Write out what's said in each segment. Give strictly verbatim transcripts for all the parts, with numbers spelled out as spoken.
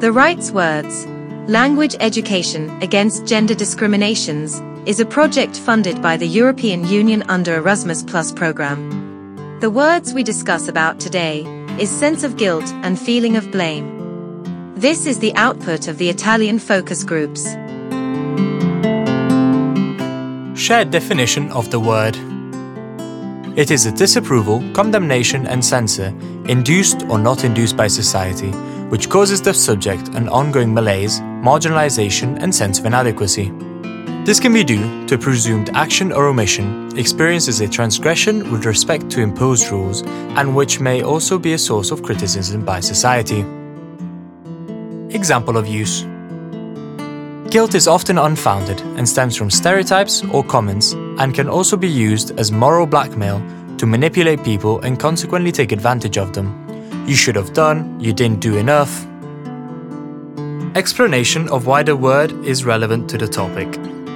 The Rights Words, Language Education Against Gender Discriminations, is a project funded by the European Union under Erasmus Plus program. The words we discuss about today is sense of guilt and feeling of blame. This is the output of the Italian focus groups. Shared definition of the word. It is a disapproval, condemnation and censure, induced or not induced by society, which causes the subject an ongoing malaise, marginalization and sense of inadequacy. This can be due to presumed action or omission, experienced as a transgression with respect to imposed rules, and which may also be a source of criticism by society. Example of use. Guilt is often unfounded and stems from stereotypes or comments, and can also be used as moral blackmail to manipulate people and consequently take advantage of them. You should have done, you didn't do enough. Explanation of why the word is relevant to the topic.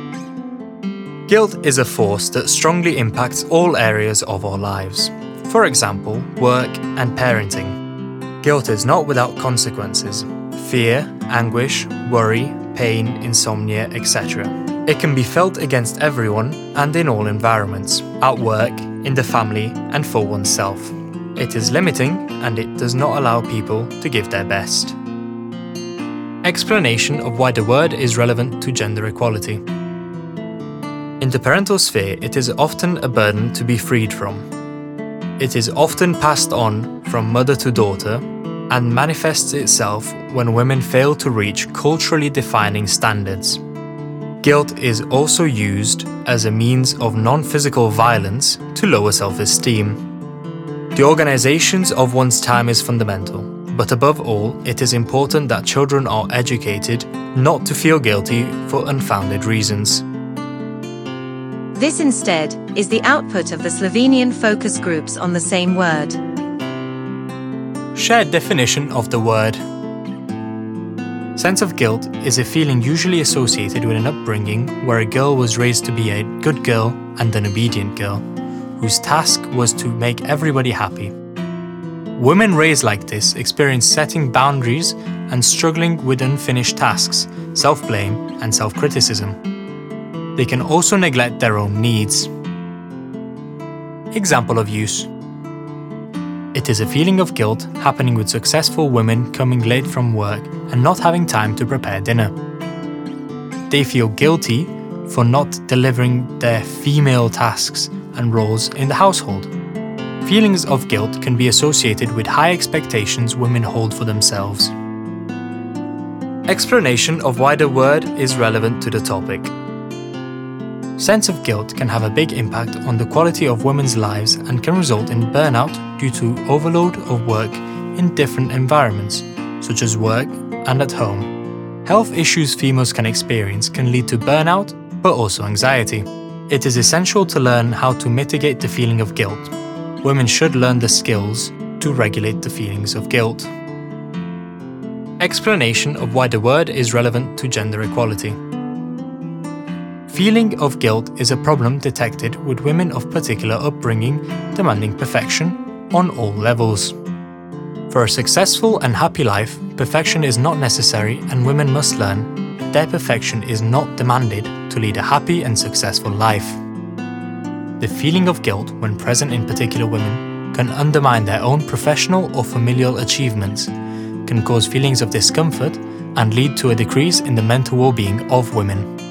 Guilt is a force that strongly impacts all areas of our lives. For example, work and parenting. Guilt is not without consequences. Fear, anguish, worry, pain, insomnia, et cetera. It can be felt against everyone and in all environments, at work, in the family, and for oneself. It is limiting and it does not allow people to give their best. Explanation of why the word is relevant to gender equality. In the parental sphere, it is often a burden to be freed from. It is often passed on from mother to daughter and manifests itself when women fail to reach culturally defining standards. Guilt is also used as a means of non-physical violence to lower self-esteem. The organization of one's time is fundamental, but above all, it is important that children are educated not to feel guilty for unfounded reasons. This instead is the output of the Slovenian focus groups on the same word. Shared definition of the word. Sense of guilt is a feeling usually associated with an upbringing where a girl was raised to be a good girl and an obedient girl, whose task was to make everybody happy. Women raised like this experience setting boundaries and struggling with unfinished tasks, self-blame and self-criticism. They can also neglect their own needs. Example of use. It is a feeling of guilt happening with successful women coming late from work and not having time to prepare dinner. They feel guilty for not delivering their female tasks and roles in the household. Feelings of guilt can be associated with high expectations women hold for themselves. Explanation of why the word is relevant to the topic. Sense of guilt can have a big impact on the quality of women's lives and can result in burnout due to overload of work in different environments, such as work and at home. Health issues females can experience can lead to burnout, but also anxiety. It is essential to learn how to mitigate the feeling of guilt. Women should learn the skills to regulate the feelings of guilt. Explanation of why the word is relevant to gender equality. Feeling of guilt is a problem detected with women of particular upbringing demanding perfection on all levels. For a successful and happy life, perfection is not necessary and women must learn their perfection is not demanded to lead a happy and successful life. The feeling of guilt when present in particular women can undermine their own professional or familial achievements, can cause feelings of discomfort and lead to a decrease in the mental well-being of women.